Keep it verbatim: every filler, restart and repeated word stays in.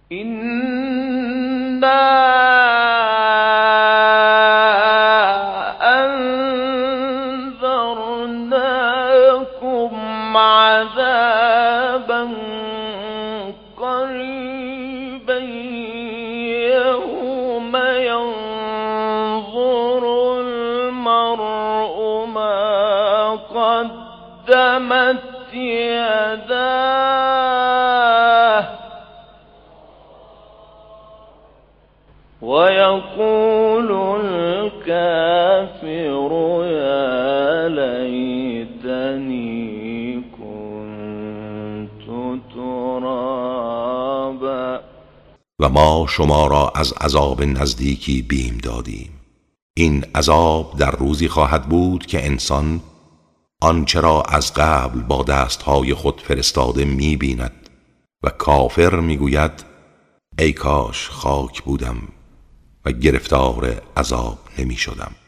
إنا أنذرناكم عذابا قريبا يوم ينظر المرء ما قدمت يداه ويقول الكافر يا ليتني كنت ترابا. و ما شما را از عذاب نزدیکی بیم دادیم. این عذاب در روزی خواهد بود که انسان آنچه را از قبل با دستهای خود فرستاده می بیند و کافر می گوید ای کاش خاک بودم و گرفتار عذاب نمی شدم.